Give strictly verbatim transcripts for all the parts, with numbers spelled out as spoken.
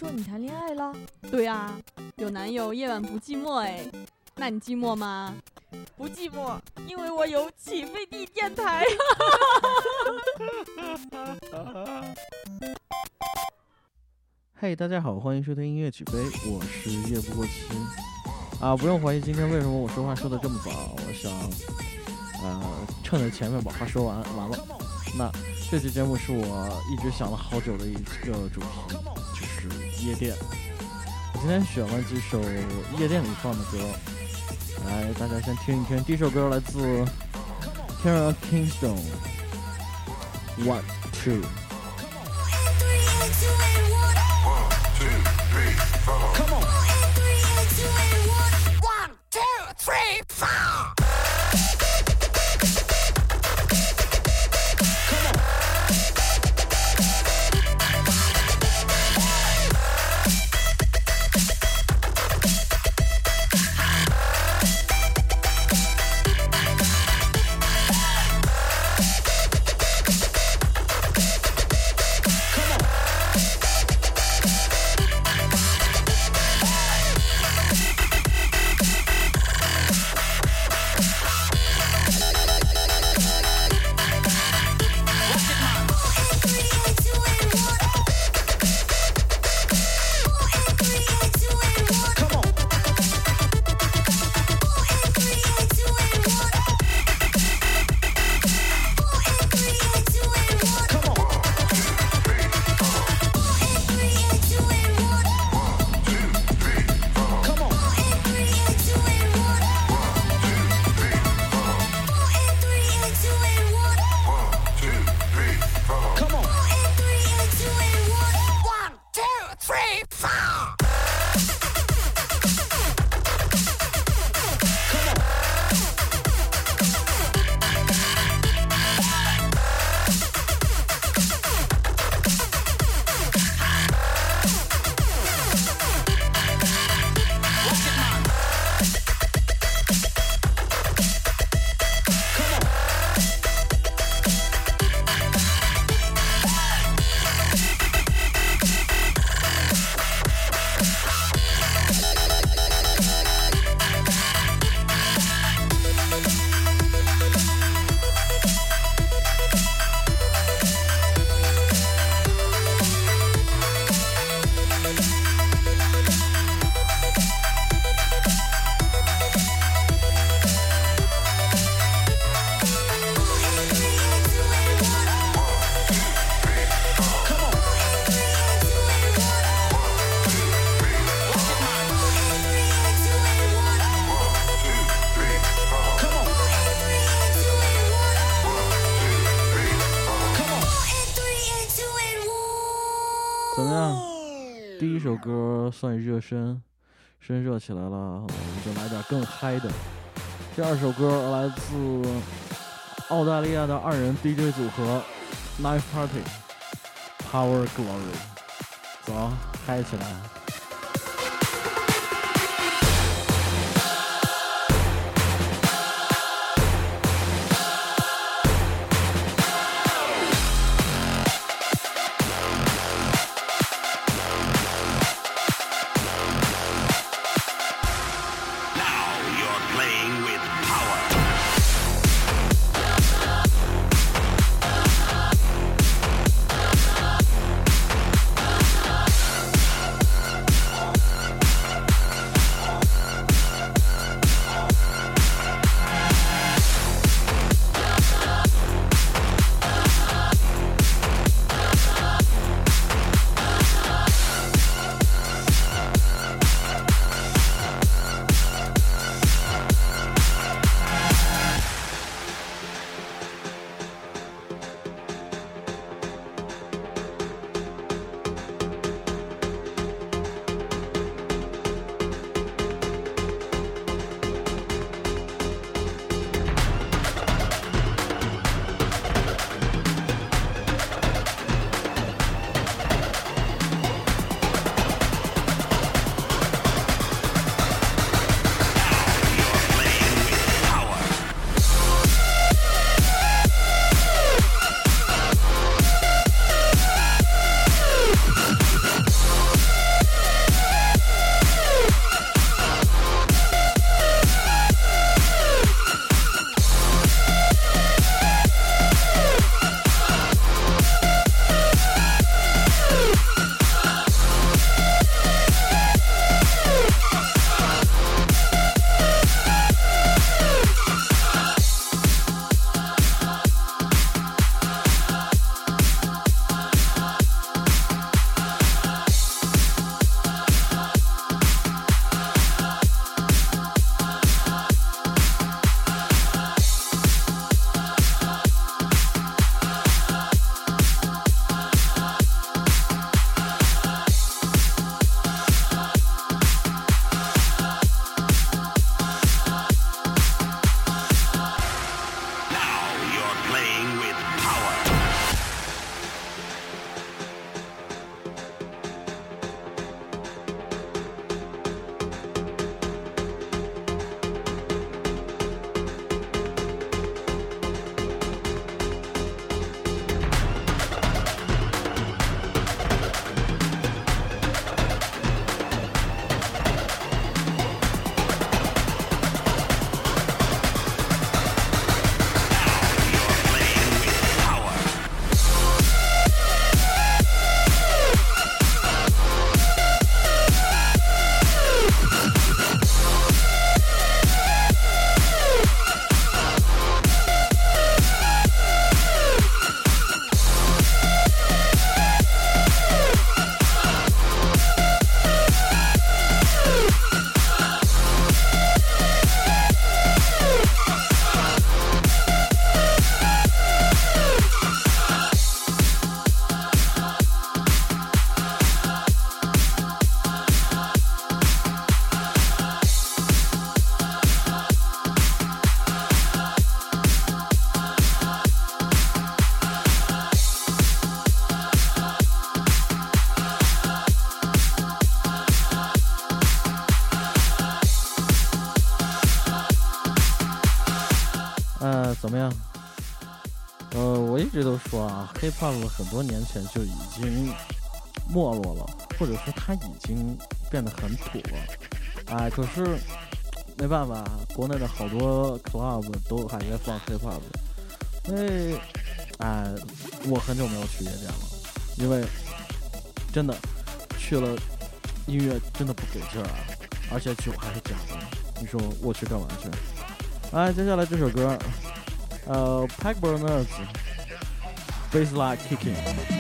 说你谈恋爱了？ 对啊，有男友夜晚不寂寞哎，那你寂寞吗？ 不寂寞，因为我有起飞地电台。 嘿、hey, 大家好，欢迎收听音乐起飞，我是夜不过期啊，不用怀疑今天为什么我说话说的这么早，我想呃趁着前面把话说完完了。那这期节目是我一直想了好久的一个主题，就是夜店。我今天选了几首夜店里放的歌，来大家先听一听。第一首歌来自 Kara Kingston One Two。Come on. One, two, three, four.怎么样？第一首歌算热身，身热起来了，我们就来点更嗨的。第二首歌来自澳大利亚的二人 D J 组合 Knife Party Power Glory， 走，嗨起来！ 么呀？呃，我一直都说啊 ，hip hop 很多年前就已经没落了，或者说它已经变得很土了。哎，可是没办法，国内的好多 club 都还在放 hip hop。因为，哎，我很久没有去夜店了，因为真的去了，音乐真的不给劲儿啊，而且酒还是假的，你说我去干嘛去？哎，接下来这首歌，呃 ，Pack Burners Bassline Kicking。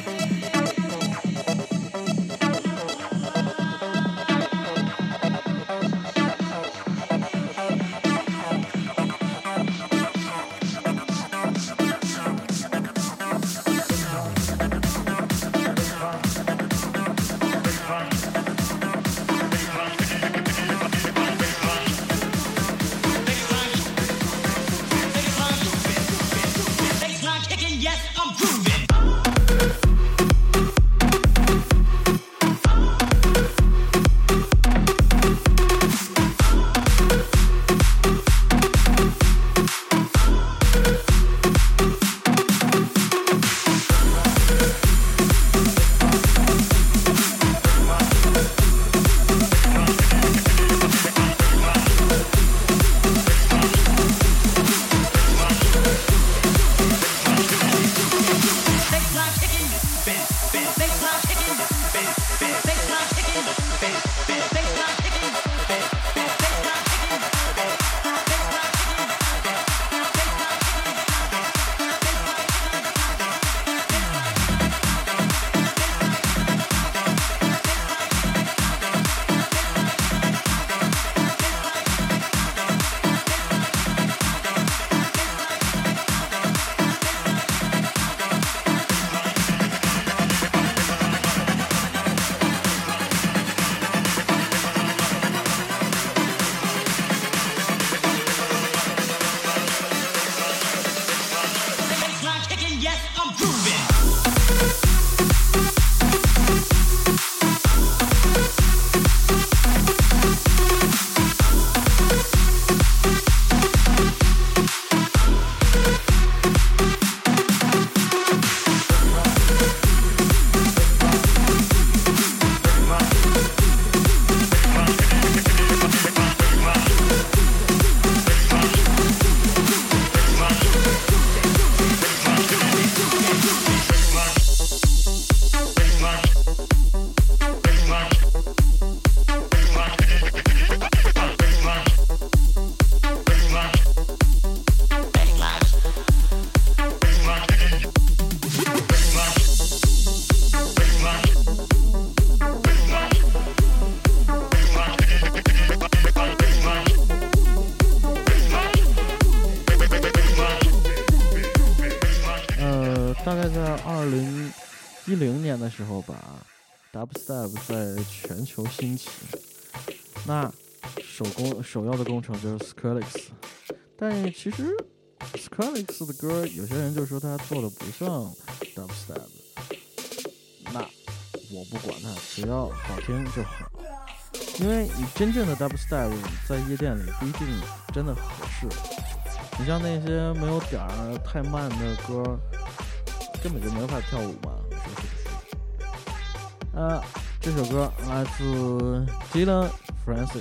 大概在二零一零年的时候吧 ，Dubstep 在全球兴起。那首工首要的工程就是 Skrillex， 但其实 Skrillex 的歌，有些人就说他做的不像 Dubstep。那我不管他，只要好听就好。因为你真正的 Dubstep 在夜店里不一定真的合适。你像那些没有点儿太慢的歌，根本就没法跳舞嘛，说是不是？啊，这首歌来自 Dylan Francis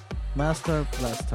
Master Blaster。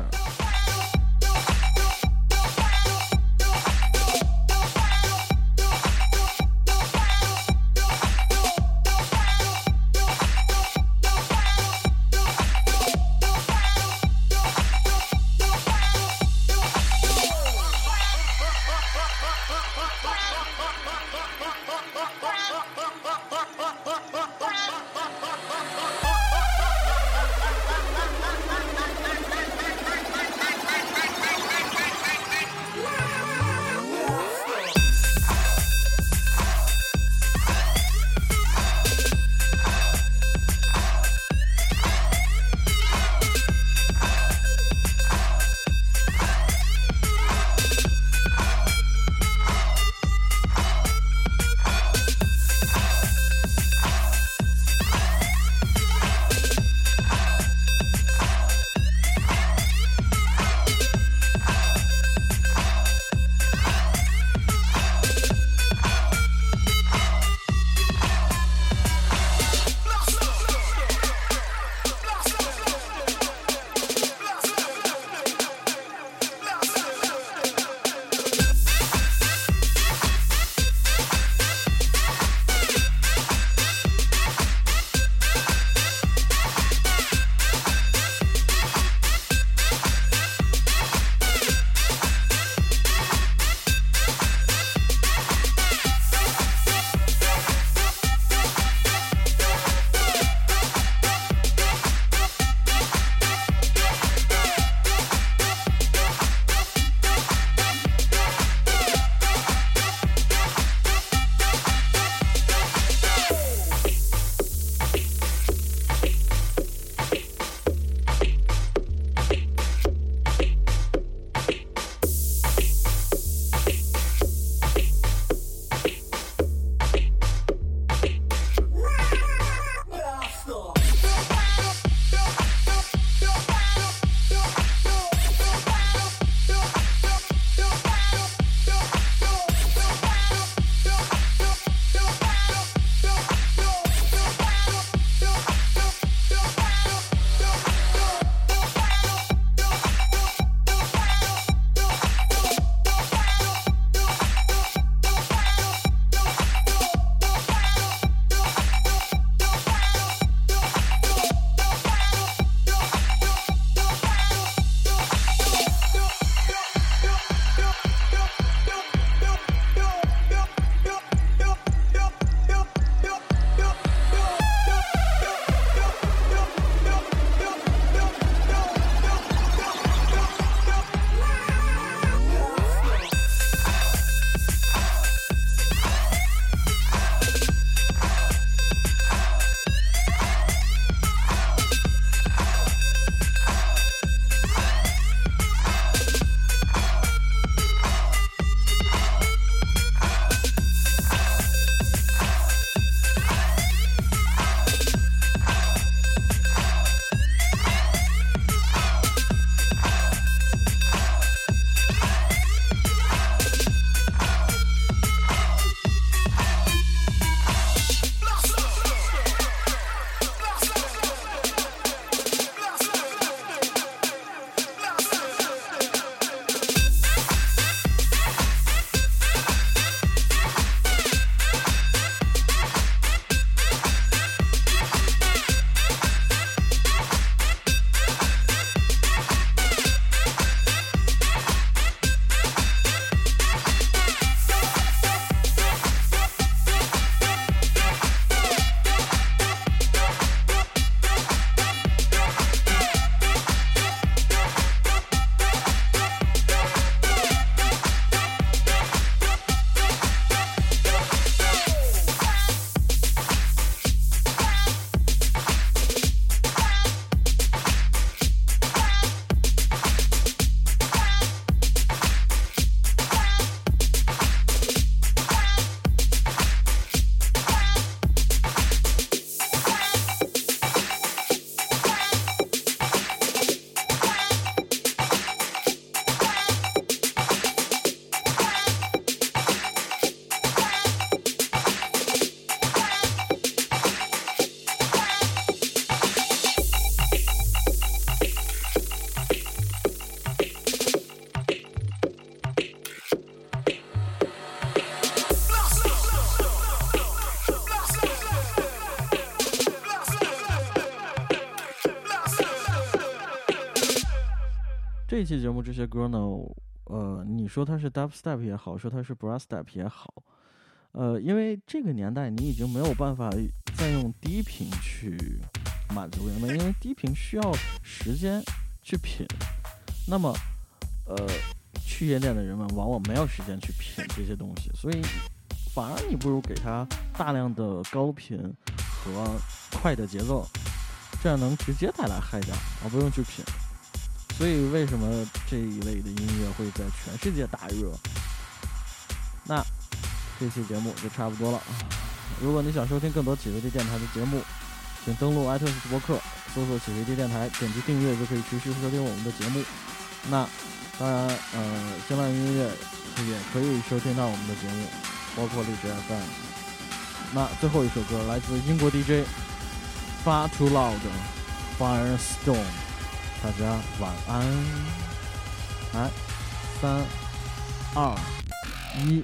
这一期节目这些歌呢，呃，你说它是 dubstep 也好，说它是 brassstep 也好，呃，因为这个年代你已经没有办法再用低频去满足人们，因为低频需要时间去品。那么，呃，去夜店的人们往往没有时间去品这些东西，所以反而你不如给他大量的高频和快的节奏，这样能直接带来嗨点，而不用去品。所以为什么这一类的音乐会在全世界大热？那这期节目就差不多了。如果你想收听更多起飞地电台的节目，请登录 iTunes 播客，搜索起飞地电台，点击订阅就可以持续收听我们的节目。那当然，呃，新浪音乐也可以收听到我们的节目，包括荔枝 F M。那最后一首歌来自英国 D J Far Too Loud Firestorm， 大家晚安。来，三、二、一。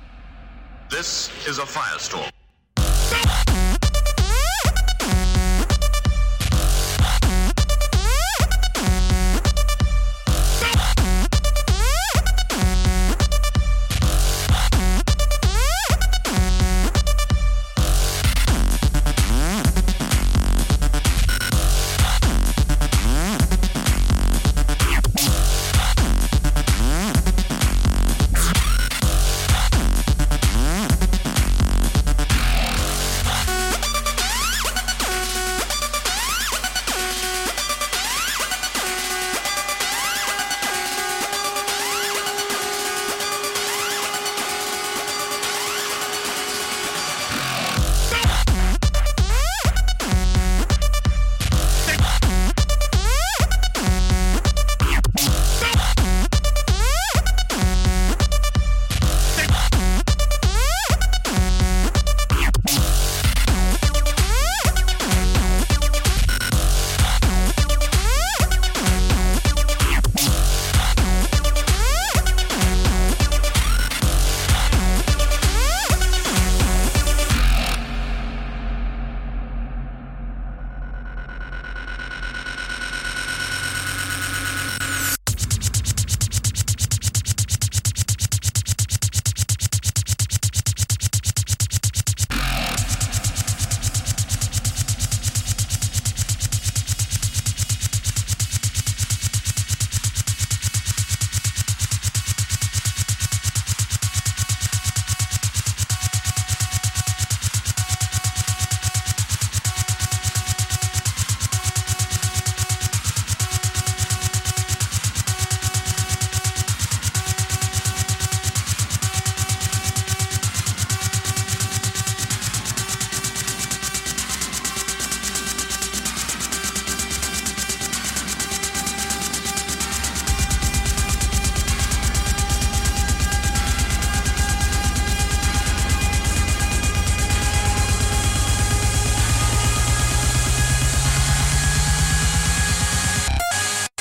This is a firestorm.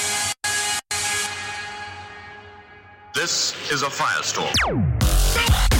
This is a firestorm.